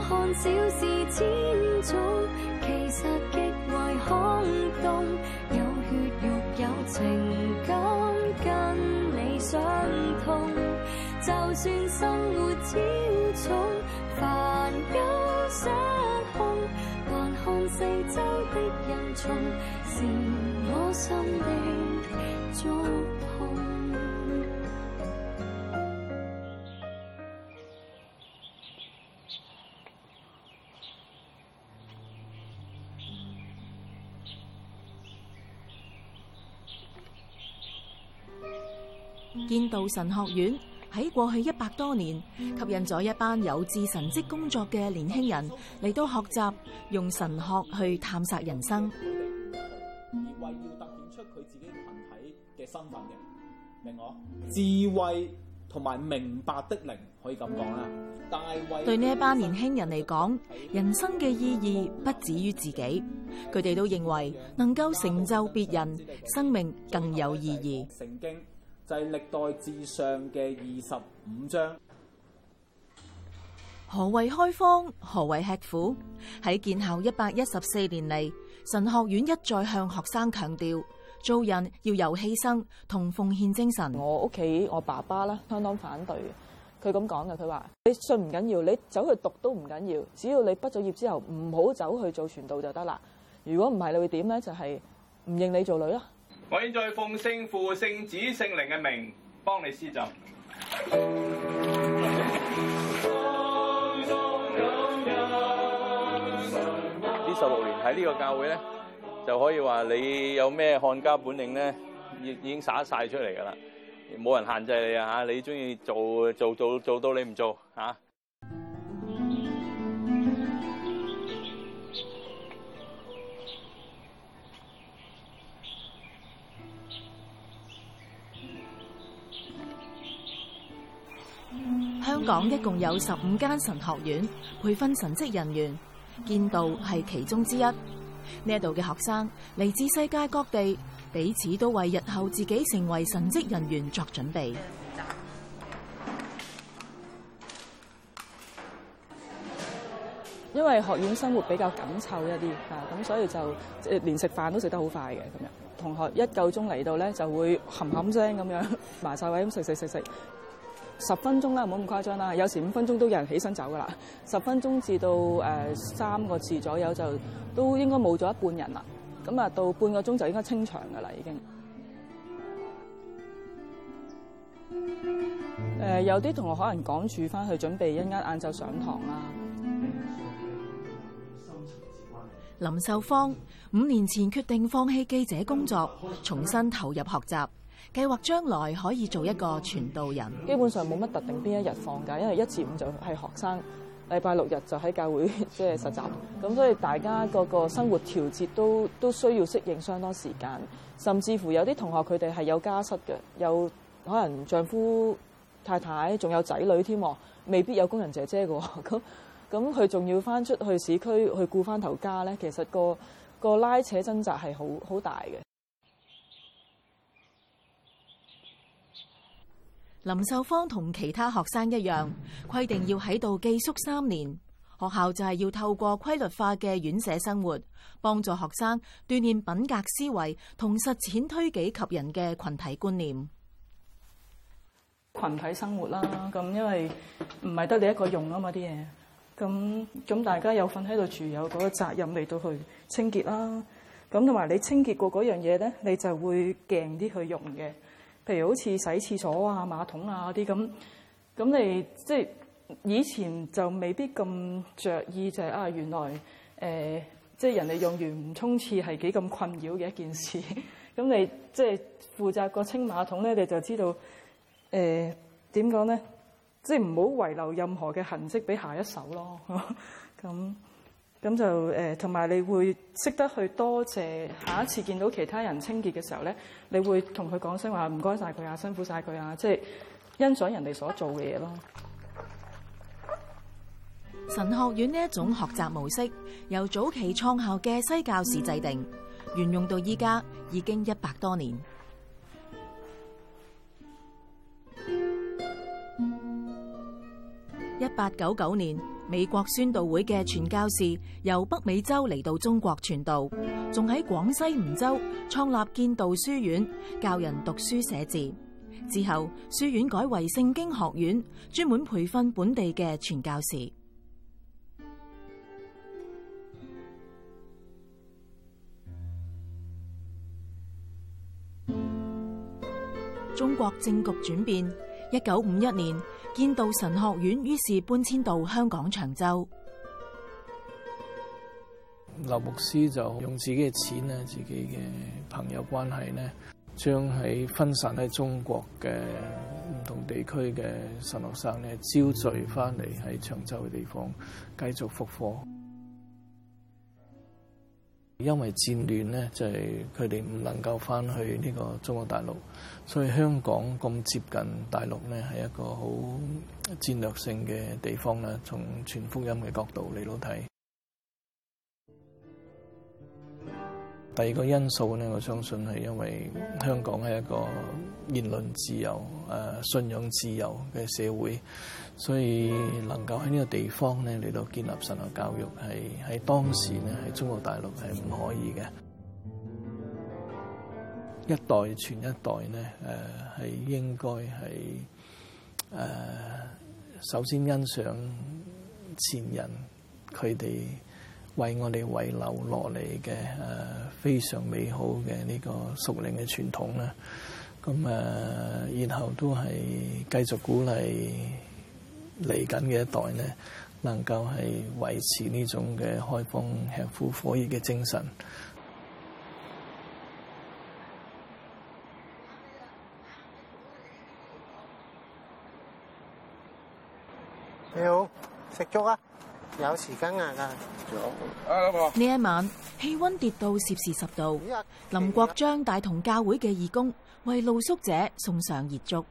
看小事千種，其實極為空洞。有血肉有情感，跟你相通。就算生活超重，煩憂失控，還看四周的人叢，是我心的觸碰。 建道神學院喺過去100多年，吸引咗一班有志神職工作嘅年輕人嚟到學習，用神學去探索人生。 智慧要凸顯出佢自己群體嘅身份嘅，明我？智慧同埋明白的靈，可以咁講啦。大衛對呢一班年輕人嚟講，人生嘅意義不止於自己，佢哋都認為能夠成就別人，生命更有意義。 聖經就係歷代志上嘅25章。 何謂開荒？何謂吃苦？喺建校114年嚟，神學院一再向學生強調，做人要有犧牲同奉獻精神。 我屋企我爸爸啦，相當反對嘅。佢咁講嘅，佢話：你信唔緊要，你走去讀都唔緊要，只要你畢咗業之後唔好走去做傳道就得啦。如果唔係，你會點咧？就係唔認你做女啦。 我現在奉聖父、聖子、聖靈嘅名幫你施浸。 呢16年喺呢個教會咧，就可以話你有咩看家本領咧，已經灑晒出嚟㗎啦，冇人限制你啊嚇！你中意做到你唔做嚇。 香港一共有15間神學院，培訓神職人員，建道係其中之一。呢度嘅學生嚟自世界各地，彼此都為日後自己成為神職人員作準備。 因為學院生活比較緊湊一啲咁所以就連食飯都食得好快嘅咁樣。同學一夠鐘嚟到咧，就會冚冚聲咁樣埋晒位咁食。10分鐘啦，唔好咁誇張啦。有時5分鐘都有人起身走噶啦。10分鐘至到3個字左右就都應該冇咗一半人啦。咁啊，到半個鐘就應該清場噶啦，已經。有啲同學可能趕住翻去準備一陣間晏晝上堂啦。 林秀芳5年前決定放棄記者工作，重新投入學習。計劃將來可以做一個傳道人。 基本上冇乜特定邊一日放假，因為1至5就係學生，禮拜6日就喺教會即係實習。咁所以大家個生活調節都需要適應相當時間，甚至乎有啲同學佢哋係有家室嘅，有可能丈夫太太仲有仔女添，未必有工人姐姐嘅。咁佢仲要翻出去市區去顧翻頭家咧，其實個拉扯掙扎係好大嘅。 林秀芳同其他學生一樣，規定要喺度寄宿3年。學校就係要透過規律化嘅院舍生活，幫助學生鍛鍊品格思維同實踐推己及人嘅群體觀念。 群體生活啦，咁因為唔係得你一個用啊嘛啲嘢，咁大家有份喺度住，有嗰個責任嚟到去清潔啦。咁同埋你清潔過嗰樣嘢咧，你就會勁啲去用嘅。譬如好似洗廁所啊、馬桶啊嗰啲咁你即係以前就未必咁着意，就係原來即係人哋用完唔沖廁係幾咁困擾嘅一件事。咁你即係負責個清馬桶咧，你就知道點講咧，即係唔好遺留任何嘅痕跡俾下一手咯。咁就同埋你會識得去多謝，下一次見到其他人清潔嘅時候咧，你會同佢講聲話唔該晒佢啊，辛苦晒佢啊，即係欣賞人哋所做嘅嘢咯。 神學院呢一種學習模式，由早期創校嘅西教士制定，沿用到依家已經100多年。1899年， 美國宣道會嘅傳教士由北美洲嚟到中國傳道，仲喺廣西梧州創立建道書院，教人讀書寫字。之後，書院改為聖經學院，專門培訓本地嘅傳教士。中國政局轉變，1951年，建道神學院於是搬遷到香港長洲。 劉牧師就用自己嘅錢咧，自己嘅朋友關係咧，將喺分散喺中國嘅唔同地區嘅神學生咧，招聚翻嚟喺長洲嘅地方繼續復課。因為戰亂咧，就係佢哋唔能夠翻去呢個中國大陸，所以香港咁接近大陸咧，係一個好戰略性嘅地方啦。從傳福音嘅角度嚟到睇。第二個因素咧，我相信係因為香港係一個言論自由、信仰自由嘅社會，所以能夠喺呢個地方咧嚟到建立神學教育，係喺當時咧喺中國大陸係唔可以嘅。一代傳一代咧，係應該係首先欣賞前人佢哋為我哋遺留落嚟嘅非常美好嘅呢個屬靈嘅傳統啦，咁然後都係繼續鼓勵嚟緊嘅一代咧，能夠係維持呢種嘅開放、吃苦、火熱嘅精神。 你好，食粥啊？有匙羹啊！ 呢一晚氣溫跌到攝氏10度，林國璋帶同教會嘅義工為露宿者送上熱粥。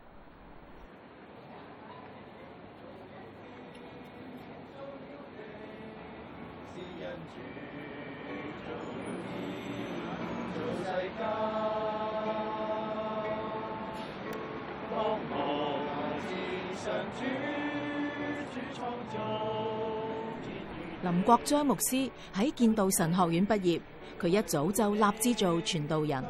林國璋牧師喺建道神學院畢業，佢一早就立志做傳道人。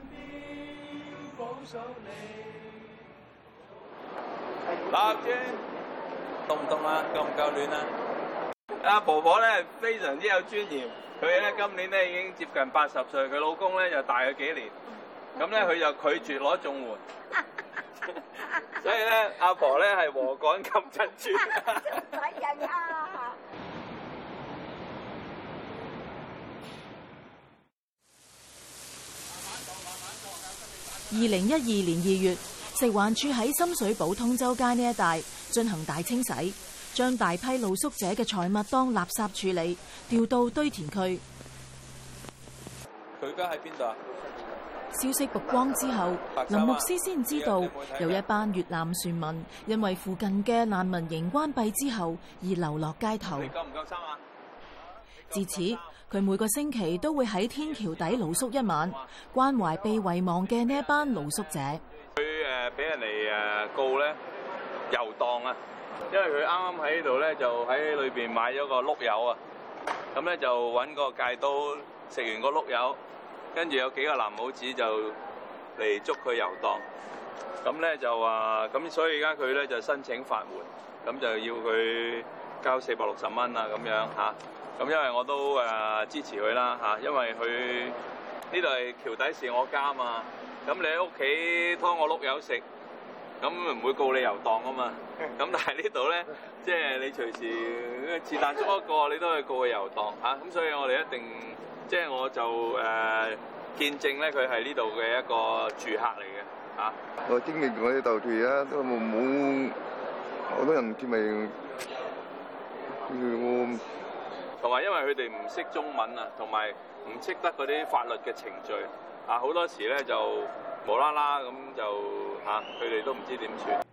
立志凍唔凍啊？夠唔夠暖啊？阿婆婆咧非常之有尊嚴，佢咧今年咧已經接近80歲，佢老公咧就大佢幾年，咁咧佢就拒絕攞綜援，所以咧阿婆咧係禾稈冚珍珠。 2012年2月，食環署喺深水埗通州街呢一帶進行大清洗，將大批露宿者嘅財物當垃圾處理，調到堆填區。 佢而家喺邊度啊？ 消息曝光之後，林牧師先知道有一班越南船民因為附近嘅難民營關閉之後而流落街頭。 你夠唔夠生啊？ 自此，佢每個星期都會喺天橋底露宿一晚，關懷被遺忘嘅呢一班露宿者。 佢俾人哋告咧遊蕩啊，因為佢啱啱喺呢度咧就喺裏邊買咗個碌柚啊，咁咧就揾個戒刀食完個碌柚，跟住有幾個藍帽子就嚟捉佢遊蕩，咁咧就話咁，所以而家佢咧就申請法援，咁就要佢交460蚊啊咁樣嚇。咁因為我都支持佢啦嚇，因為佢呢度係橋底是我家嘛，咁你喺屋企拖我碌柚食，咁唔會告你遊蕩啊嘛。咁但係呢度咧，即係你隨時是但捉一個，你都可以告佢遊蕩嚇。咁所以我哋一定，即係我就見證咧，佢係呢度嘅一個住客嚟嘅嚇。 我經歷過啲鬥團啊，都冇好多人咪我。 同埋因為佢哋唔識中文啊，同埋唔識得嗰啲法律嘅程序啊，好多時咧就無啦啦咁就佢哋都唔知點算。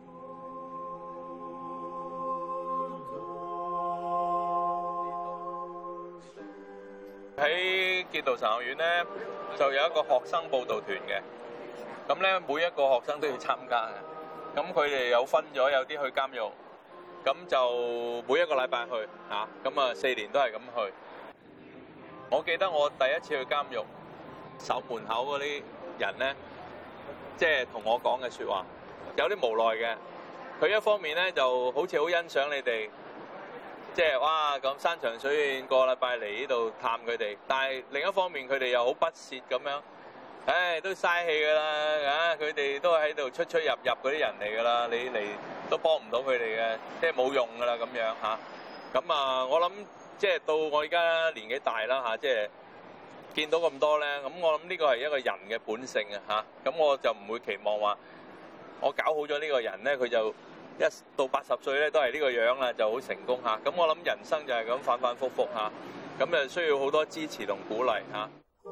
喺建道神學院咧，就有一個學生報道團嘅，咁咧每一個學生都要參加嘅。咁佢哋有分咗，有啲去監獄， 咁就每一個禮拜去嚇，咁啊4年都係咁去。我記得我第一次去監獄守門口嗰啲人咧，即係同我講嘅説話，有啲無奈嘅。佢一方面咧就好似好欣賞你哋，即係哇咁山長水遠個禮拜嚟呢度探佢哋，但係另一方面佢哋又好不屑咁樣，唉都嘥氣㗎啦，佢哋都係喺度出入嗰啲人嚟㗎啦，你嚟都幫唔到佢哋嘅，即係冇用㗎啦咁樣嚇。咁啊，我諗即係到我而家年紀大啦嚇，即係見到咁多咧，咁我諗呢個係一個人嘅本性啊嚇。咁我就唔會期望話我搞好咗呢個人咧，佢就一到80歲咧都係呢個樣啦，就好成功嚇。咁我諗人生就係咁反反覆覆嚇，咁就需要好多支持同鼓勵嚇。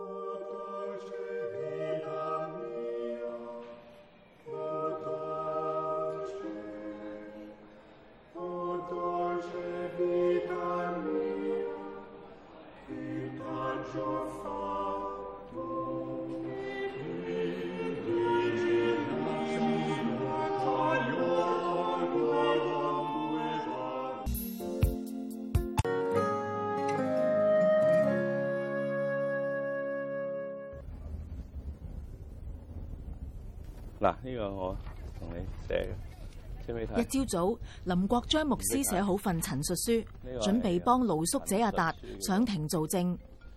嗱，呢個我同你寫嘅，知唔知睇？ 一朝早，林國璋牧師寫好份陳述書，準備幫露宿者阿達上庭做證。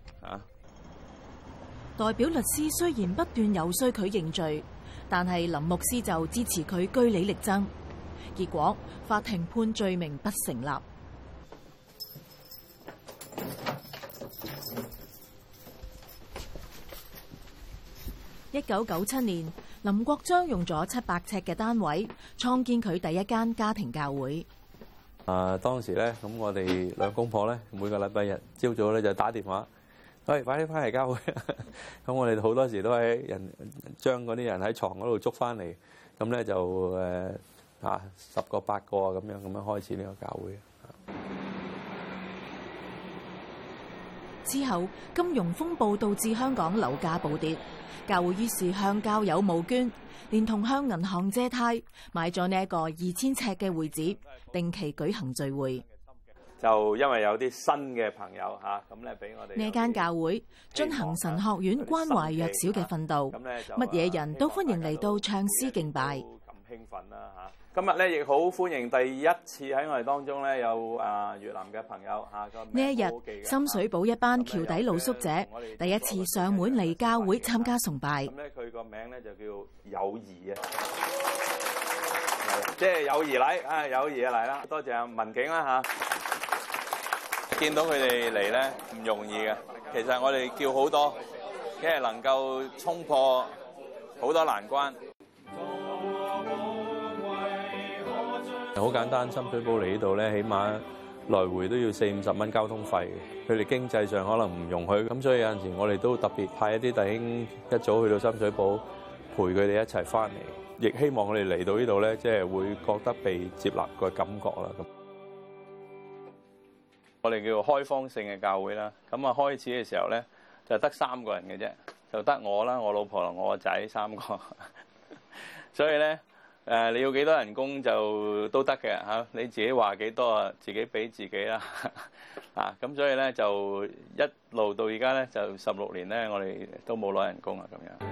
代表律師雖然不斷遊說佢認罪，但係林牧師就支持佢據理力爭。結果法庭判罪名不成立。1997年，林國璋用咗700尺嘅單位創建佢第一間家庭教會。 當時咧，咁我哋兩公婆咧，每個禮拜日朝早咧就打電話，喂，快啲翻嚟教會。咁我哋好多時都係將嗰啲人喺床嗰度捉翻嚟，咁咧就10個8個咁樣開始呢個教會。 之後，金融風暴導致香港樓價暴跌，教會於是向教友募捐，連同向銀行借貸，買咗呢一個2000尺嘅會址，定期舉行聚會。 就因為有啲新嘅朋友咁咧俾我哋呢間教會進行神學院關懷弱小嘅訓導，乜嘢人都歡迎嚟到唱詩敬拜。 咁興奮啦嚇！今日咧亦好歡迎第一次喺我哋當中咧有越南嘅朋友嚇。 呢一日，深水埗一班橋底露宿者第一次上門嚟教會參加崇拜。 咁咧佢個名咧就叫友誼啊，即係友誼禮啊，友誼嘅禮啦。多謝阿文景啦嚇。見到佢哋嚟咧唔容易嘅，其實我哋叫好多，即係能夠衝破好多難關。好簡單，深水埗嚟呢度咧，起碼來回都要40-50蚊交通費。佢哋經濟上可能唔容許，咁所以有陣時我哋都特別派一啲弟兄一早去到深水埗陪佢哋一齊翻嚟，亦希望佢哋嚟到呢度咧，即係會覺得被接納嘅感覺啦。咁我哋叫做開放性嘅教會啦。咁開始嘅時候咧，就得3個人嘅啫，就得我啦、我老婆同我個仔3個，所以咧。你要幾多人工就都得嘅嚇，你自己話幾多啊，自己俾自己啦。咁所以咧就一路到而家咧就16年咧，我哋都冇攞人工啊咁樣。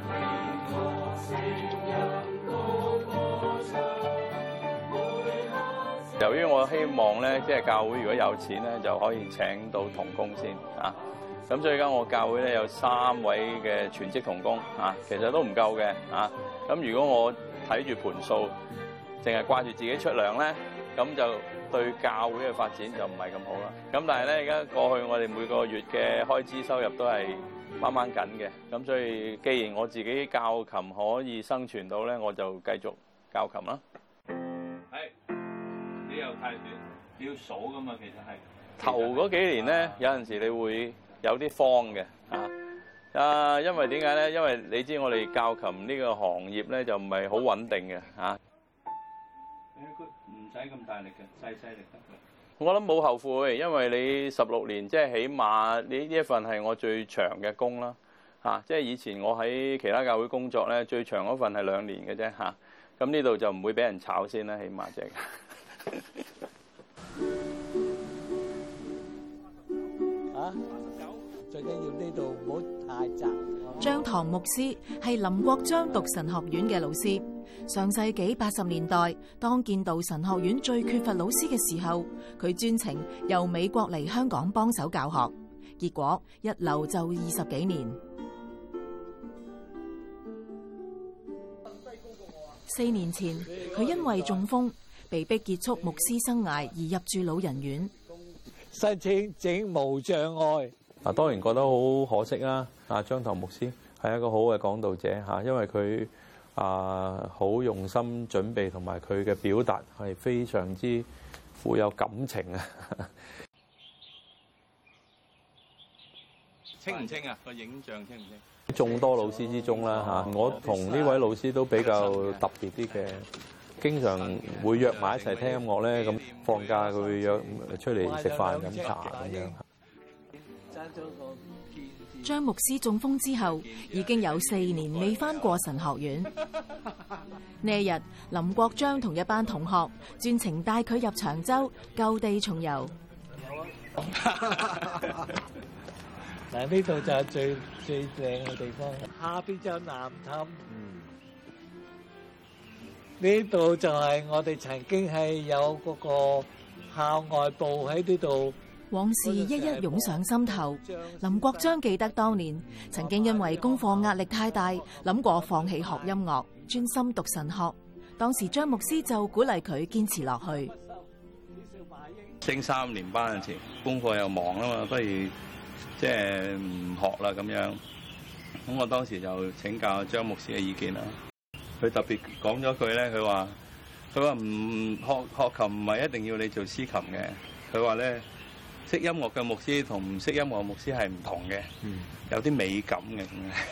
由於我希望咧，即係教會如果有錢咧，就可以請到同工先啊。咁所以而家我教會咧有3位嘅全職同工啊，其實都唔夠嘅啊。咁如果我睇住盤數，淨係掛住自己出糧咧，咁就對教會嘅發展就唔係咁好啦。咁但係咧，而家過去我哋每個月嘅開支收入都係掹掹緊嘅。咁所以，既然我自己教琴可以生存到咧，我就繼續教琴啦。係，你又太短，你要數噶嘛？其實係頭嗰幾年咧，有陣時你會有啲慌嘅因為點解咧？因為你知我哋教琴呢個行業咧就唔係好穩定嘅嚇。唔使咁大力嘅，細力得嘅。我諗冇後悔，因為你16年即係起碼呢一份係我最長嘅工啦嚇。即係以前我喺其他教會工作咧，最長嗰份係2年嘅啫嚇。咁呢度就唔會俾人炒先啦，起碼即係。 最緊要呢度唔好太窄。 張唐牧師係林國璋讀神學院嘅老師。上世紀80年代，當建道神學院最缺乏老師嘅時候，佢專程由美國嚟香港幫手教學，結果一留就20幾年。4年前，佢因為中風，被迫結束牧師生涯而入住老人院。 申請整無障礙。 當然覺得好可惜啦。張唐牧師係一個好嘅講道者嚇，因為佢好用心準備，同埋佢嘅表達係非常之富有感情啊！清唔清啊？個影像清唔清？眾多老師之中啦嚇，我同呢位老師都比較特別啲嘅，經常會約埋一齊聽音樂咧。咁放假佢會約出嚟食飯飲茶咁樣。 張牧師中風之後，已經有4年未返過神學院。呢一日，林國璋同一班同學專程帶佢入長洲舊地重遊。 嗱，呢度就係最靚嘅地方，下邊就南氹。呢度就係我哋曾經係有嗰個校外部喺呢度。 往事一一湧上心頭。林國璋記得當年曾經因為功課壓力太大，諗過放棄學音樂，專心讀神學。當時張牧師就鼓勵佢堅持落去。 升3年班嗰陣時，功課又忙啊嘛，不如即係唔學啦咁樣。咁我當時就請教張牧師嘅意見啦。佢特別講咗句咧，佢話唔學琴唔係一定要你做司琴嘅。佢話咧，識音樂嘅牧師同唔識音樂嘅牧師係唔同嘅，有啲美感嘅。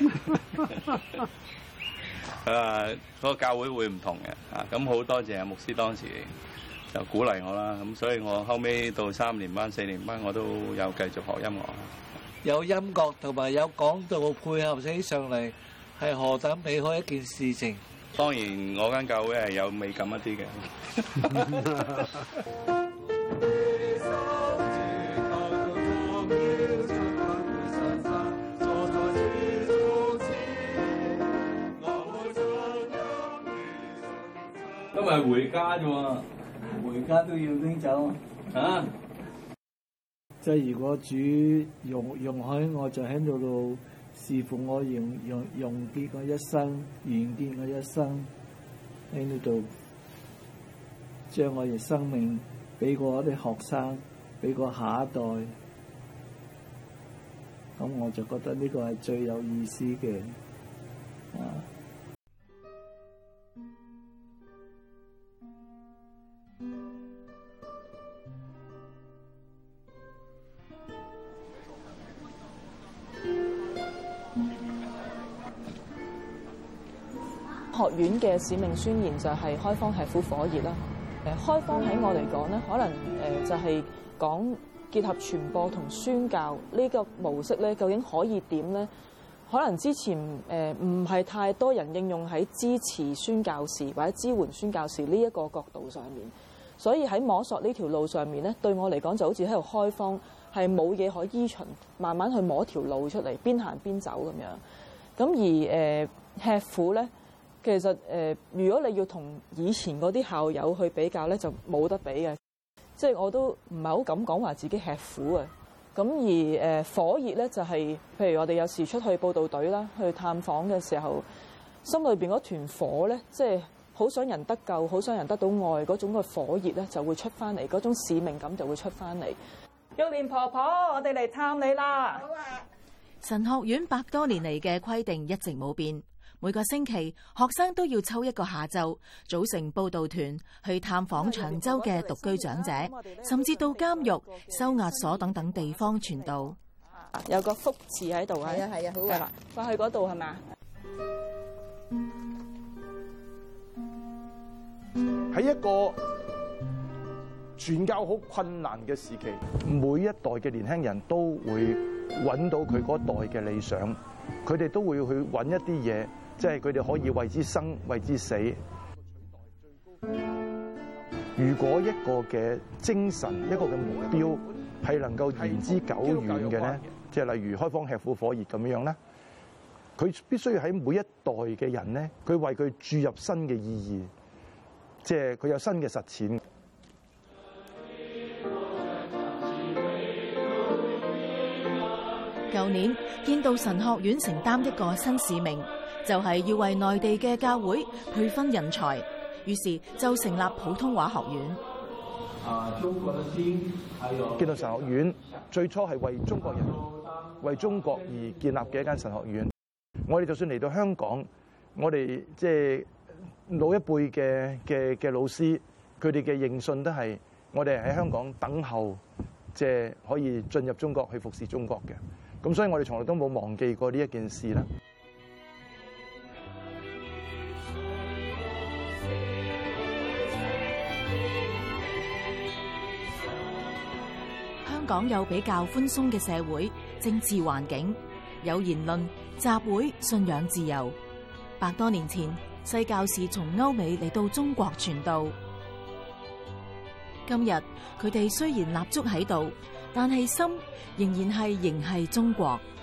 佢話嗰個教會會唔同嘅，咁好多謝阿牧師當時就鼓勵我啦。咁所以我後尾到3年班、4年班，我都有繼續學音樂。 有音樂同埋有講道配合起上嚟，係何等美好一件事情。 當然我間教會係有美感一啲嘅。今日回家啫喎， 回家都要拎走啊！ 即係如果主容許，我就喺度侍奉我，用結我一生，完結我一生喺呢度，將我嘅生命俾過我啲學生，俾過下一代，咁我就覺得呢個係最有意思嘅啊！ 學院嘅使命宣言就係開荒吃苦火熱啦。開荒喺我嚟講咧，可能就係講結合傳播同宣教呢個模式咧，究竟可以點咧？可能之前唔係太多人應用喺支持宣教士或者支援宣教士呢一個角度上面，所以喺摸索呢條路上面咧，對我嚟講就好似喺度開荒，係冇嘢可依循，慢慢去摸條路出嚟，邊行邊走咁樣。咁而吃苦咧。其實如果你要同以前嗰啲校友去比較咧，就冇得比嘅。即係我都唔係好敢講話自己吃苦嘅。咁而火熱咧，就係譬如我哋有時出去報道隊啦，去探訪嘅時候，心裏邊嗰團火咧，即係好想人得救，好想人得到愛嗰種嘅火熱咧，就會出翻嚟，嗰種使命感就會出翻嚟。玉蓮婆婆，我哋嚟探你啦！好啊！ 神學院100多年嚟嘅規定一直冇變。每個星期，學生都要抽一個下晝，組成報道團去探訪長洲嘅獨居長者，甚至到監獄、收押所等等地方傳道。 有個福字喺度啊！係啊，好啊，係啦，放去嗰度係嘛？ 喺一個傳教好困難嘅時期，每一代嘅年輕人都會揾到佢嗰代嘅理想，佢哋都會去揾一啲嘢。即係佢哋可以為之生，為之死。 如果一個嘅精神、一個嘅目標係能夠言之久遠嘅咧，即係例如開荒吃苦火熱咁樣咧，佢必須要喺每一代嘅人咧，佢為佢注入新嘅意義，即係佢有新嘅實踐。 舊年建道神學院承擔一個新使命，就係要為內地嘅教會培訓人才，於是就成立普通話學院。 建道神學院最初係為中國人、為中國而建立嘅一間神學院。我哋就算嚟到香港，我哋即係老一輩嘅老師，佢哋嘅認信都係我哋喺香港等候，即係可以進入中國去服侍中國嘅。咁所以我哋從來都冇忘記過呢一件事啦。 香港有比較寬鬆嘅社會政治環境，有言論、集會、信仰自由。100多年前，西教士從歐美嚟到中國傳道。今日佢哋雖然立足喺度，但係心仍然係仍係中國。